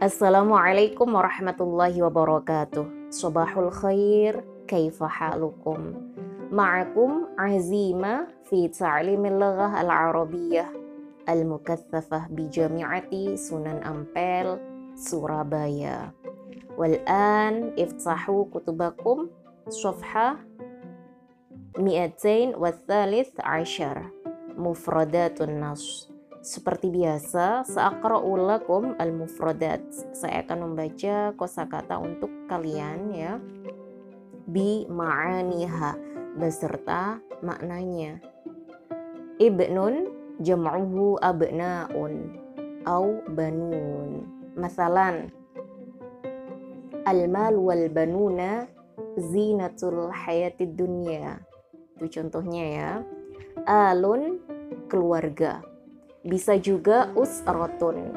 Assalamualaikum warahmatullahi wabarakatuh. Sobahul khair, kaifa halukum? Ma'akum azima fi ta'limil lughah al-arabiyyah al-mukaththafah bi Jami'ati Sunan Ampel, Surabaya. Wal'an iftahu kutubakum safhah 213 Mufradatun Nas. Seperti biasa, sa'aqra'u lakum al-mufradat. Saya akan membaca kosakata untuk kalian ya. Bi ma'aniha, beserta maknanya. Ibnun jam'uhu abna'un au banun. Masalan, al-mal wal banuna zinatul hayatid dunya. Itu contohnya ya. Alun, keluarga. Bisa juga usrotun.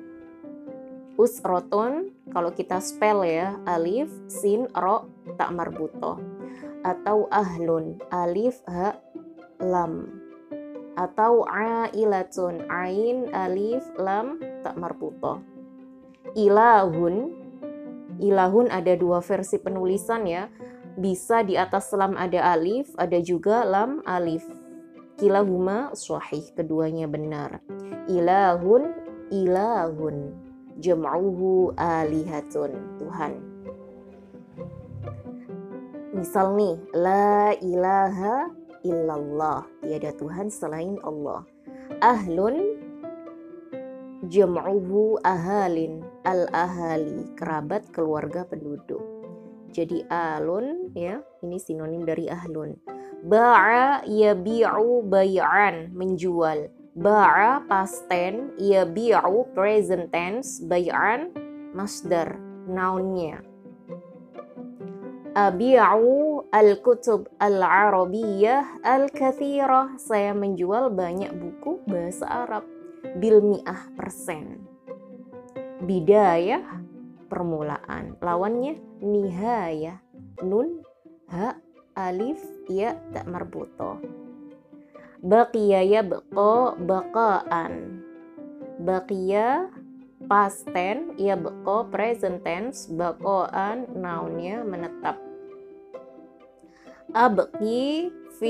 Usrotun kalau kita spell ya, alif, sin, ro, tak marbutoh. Atau ahlun, alif, ha, lam. Atau ailatun, ain, alif, lam, tak marbutoh. Ilahun, ilahun ada dua versi penulisan ya. Bisa di atas lam ada alif, ada juga lam alif. Kilahuma sahih, keduanya benar. Ilahun, ilahun. Jam'uhu alihatun, Tuhan. Misal nih, la ilaha illallah, tiada Tuhan selain Allah. Ahlun, jam'uhu ahalin, al-ahali, kerabat, keluarga, penduduk. Jadi alun ya, ini sinonim dari ahlun. Ba'a yabi'u bay'an, menjual. Ba'a past tense, yabi'u present tense, bay'an masdar, nounnya. Abi'u al-kutub al-arabiyyah al-kathirah, saya menjual banyak buku bahasa Arab. Bil mi'ah %. Bidayah, permulaan. Lawannya nihayah, nun, ha, alif, ya, tak marbutoh. Baqiya yabqa baqaan. Baqiya past tense, yabqa present tense, baqaan nounnya menetap. Abqa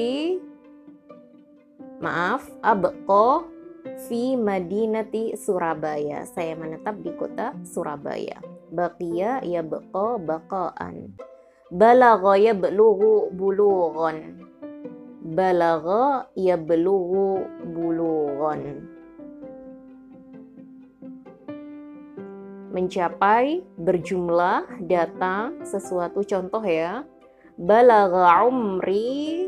fi madinati Surabaya, saya menetap di kota Surabaya. Baqiya yabqa baqaan. Balagha yablughu bulughan. Balagha yablughu bulughan. Mencapai, berjumlah, datang, sesuatu. Contoh ya. Balagha umri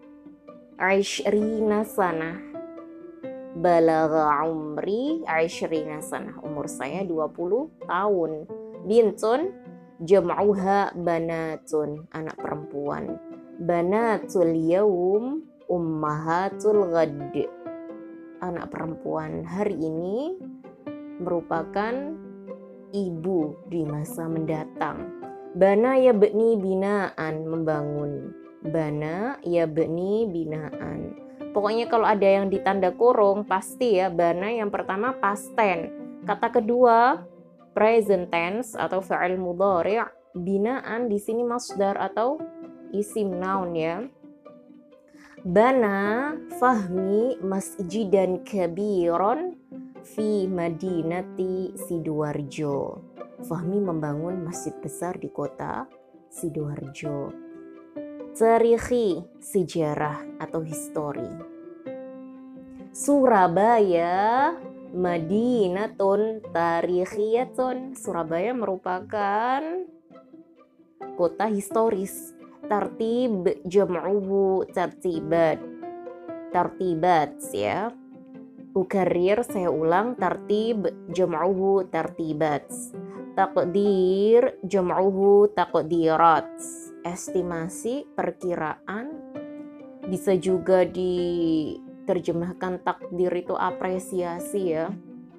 20 sanah. Balagha umri 20 sanah. Umur saya 20 tahun. Bintun jam'uha banatun, anak perempuan. Banatul yaum ummahatul ghad, anak perempuan hari ini merupakan ibu di masa mendatang. Bana yabni binaan, membangun. Bana yabni binaan. Pokoknya kalau ada yang ditanda kurung pasti ya, bana yang pertama past tense. Kata kedua present tense atau fa'il mudhari', binaan di sini masdar atau isim noun ya. Bana Fahmi masjidan kabiron fi madinati Sidoarjo. Fahmi membangun masjid besar di kota Sidoarjo. Tarikhi, sejarah atau histori. Surabaya Madinatun tarikhiyatun, Surabaya merupakan kota historis. Tartib jam'uhu tartibat. Tartibat ya. Ukarir, saya ulang, tartib jam'uhu tartibat. Taqdir jam'uhu taqdirat. Estimasi, perkiraan. Bisa juga diterjemahkan takdir itu apresiasi ya.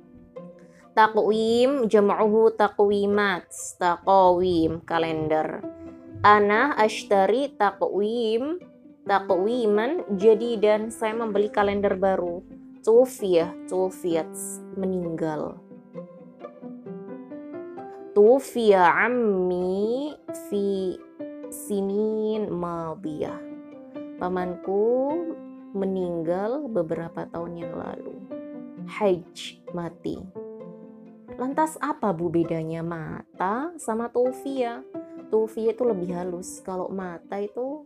Taqwim jam'uhu taqwimat. Taqawim, kalender. Ana ashtari taqwim, taqwiman jadidan, saya membeli kalender baru. Tufiyah, tufiyat, meninggal. Tufiya ammi fi sinin madiyah. Pamanku meninggal beberapa tahun yang lalu. Hajj, mati. Lantas apa bu bedanya mata sama tufiya? Tufiya itu lebih halus. Kalau mata itu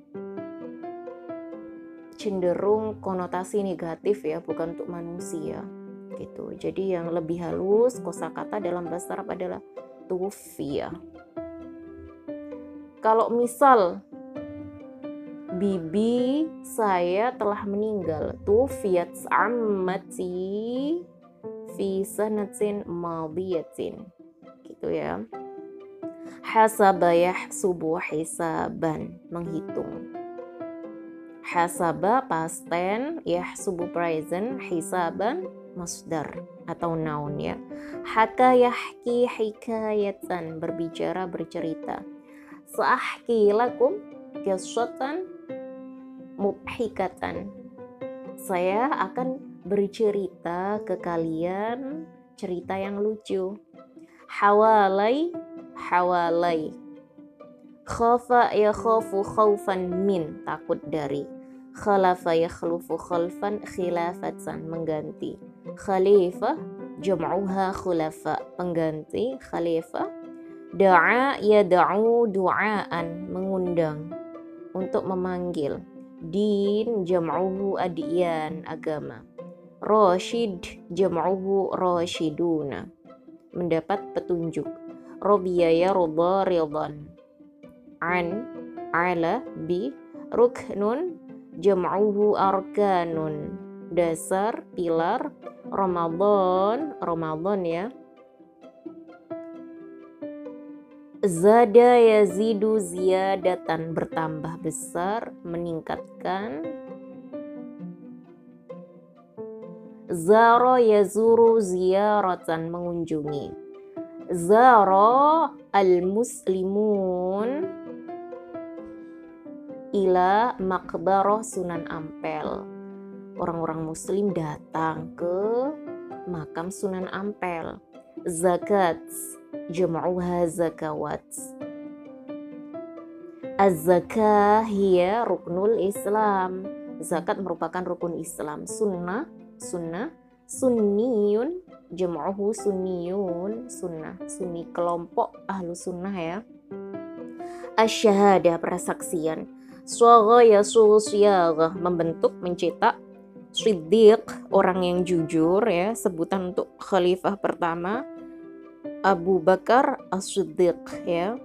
cenderung konotasi negatif ya, bukan untuk manusia gitu. Jadi yang lebih halus kosakata dalam bahasa Arab adalah tufiya. Kalau misal bibi saya telah meninggal, tufiyat ammati fi sanatin madiyatin, gitu ya. Hasaba yahsubu hisaban, menghitung. Hasaba past tense, yahsubu present, hisaban masdar atau noun ya. Haka yahki hikayatan, berbicara, bercerita. Sa'ahki lakum qissatan mudhikatan, saya akan bercerita ke kalian cerita yang lucu. Hawalai, hawalai. Khafa yakhafu khaufan min, takut dari. Khalafa yakhlufu khalfan khilafatan, mengganti. Khalifah jam'uha khulafa, pengganti khalifah. Da'a yada'u du'aan, mengundang, untuk memanggil. Din jam'uhu adiyan, agama. Rashid jam'uhu rashiduna, mendapat petunjuk. Robiya yarda ridhan. An, ala, bi. Ruknun jam'uhu arkanun, dasar, pilar. Ramadan, Ramadan ya. Zada yazidu ziyadatan, bertambah besar, meningkatkan. Zara yazuru ziyaratan, mengunjungi. Zara al-muslimun ila maqbarah Sunan Ampel, orang-orang muslim datang ke makam Sunan Ampel. Zakat jam'uha zakawat. Az-zakah hiya ruknul Islam, zakat merupakan rukun Islam. Sunnah, sunnah. Sunniyun jam'uhu sunniyun, sunnah, sunni, kelompok ahlu sunnah ya. Asyhadah, persaksian. Swagha yasughu syaghah, membentuk, mencetak. Siddiq, orang yang jujur ya, sebutan untuk khalifah pertama Abu Bakar As-Siddiq ya.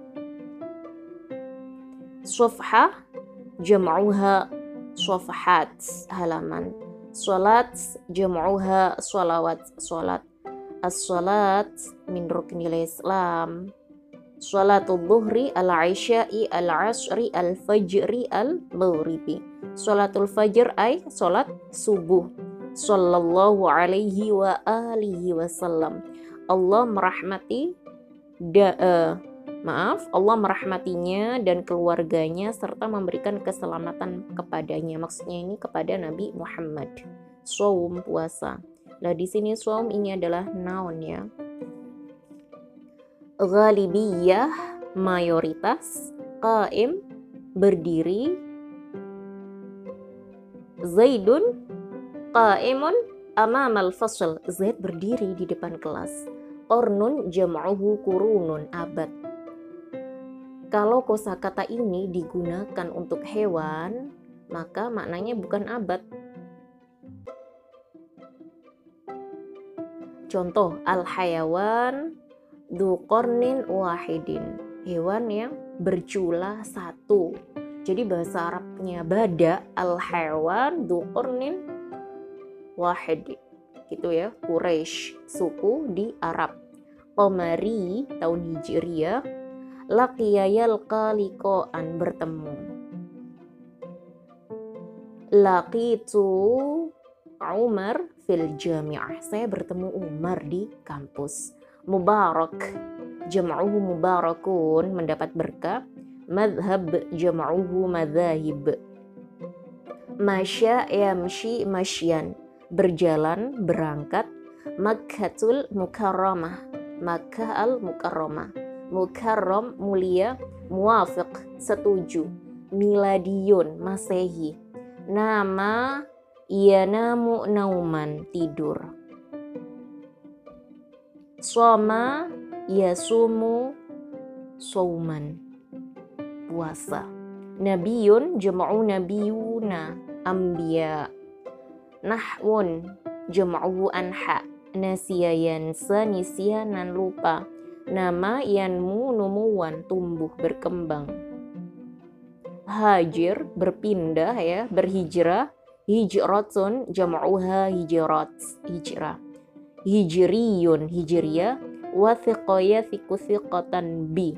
Safhah jam'uha safhat, halaman. Salat jam'uha salawat, salat. As-salat min ruknil Islam. Salatul dhuhri al-isya'i al-asri al-fajri al-maghribi. Salatul fajr ay salat subuh. Sallallahu alaihi wa alihi wasallam. Allah merahmati Allah merahmatinya dan keluarganya serta memberikan keselamatan kepadanya. Maksudnya ini kepada Nabi Muhammad. Shaum, puasa. Nah, di sini shaum ini adalah noun ya. Ghalibiyah, mayoritas. Qaim, berdiri. Zaidun qaimun amamal fasl, Zaid berdiri di depan kelas. Qarnun jam'uhu qurunun, abad. Kalau kosakata ini digunakan untuk hewan, maka maknanya bukan abad. Contoh, al-hayawan dzu qarnin wahidin, hewan yang bercula satu. Jadi bahasa Arabnya bada, al-hayawan dzu qarnin wahid, gitu ya. Quraisy, suku di Arab. Qamari, tahun Hijriyah. Laqiya yalqa liqa'an, bertemu. Laqitu Umar fil jami'ah, saya bertemu Umar di kampus. Mubarak jam'uhu mubarakun, mendapat berkah. Madhab jam'uhu madhahib. Masya yamshi masyan, berjalan, berangkat. Makkatul Mukarramah, Makkah al-Mukarramah. Mukarram mulia, muwafiq setuju, miladiyun masehi, nama yanamu nauman tidur, soma yasumu sauman puasa, nabiyun jam'u nabiyuna ambiya, nahwun jam'u anha, nasiya yansa nisyanan lupa, nama yanmu numuwan tumbuh berkembang, hajir berpindah ya, berhijrah, hijratun jam'uha hijrat hijrah, hijriyun hijriyah, wa thiqaya thiqu thiqatan bi,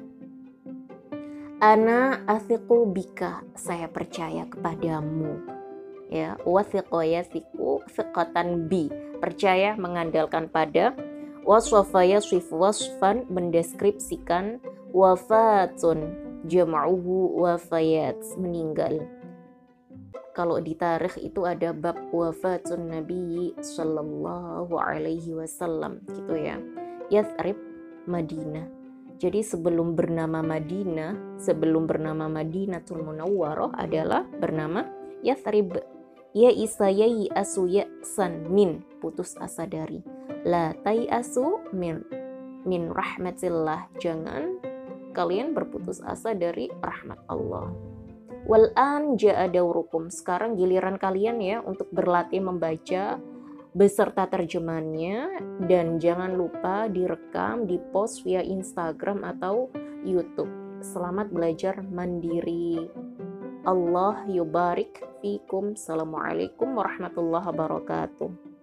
ana athiqu bika saya percaya kepadamu ya, wa thiqaya thiqu thiqatan bi percaya mengandalkan pada, waswafaya swif wasfan mendeskripsikan, wafatun jam'uhu wafayat meninggal. Kalau di tarikh itu ada bab wafatun Nabi sallallahu alaihi wasallam gitu ya. Yathrib Madinah. Jadi sebelum bernama Madinah, sebelum bernama Madinatul Munawwarah adalah bernama Yathrib. Ya isa yai asu ya'san min putus asa dari, la tai asu min rahmatillah jangan kalian berputus asa dari rahmat Allah. Wal an ja'a daurukum sekarang giliran kalian ya untuk berlatih membaca beserta terjemahannya, dan jangan lupa direkam, dipost via Instagram atau YouTube. Selamat belajar mandiri. Allah yubarik fikum. Assalamualaikum warahmatullahi wabarakatuh.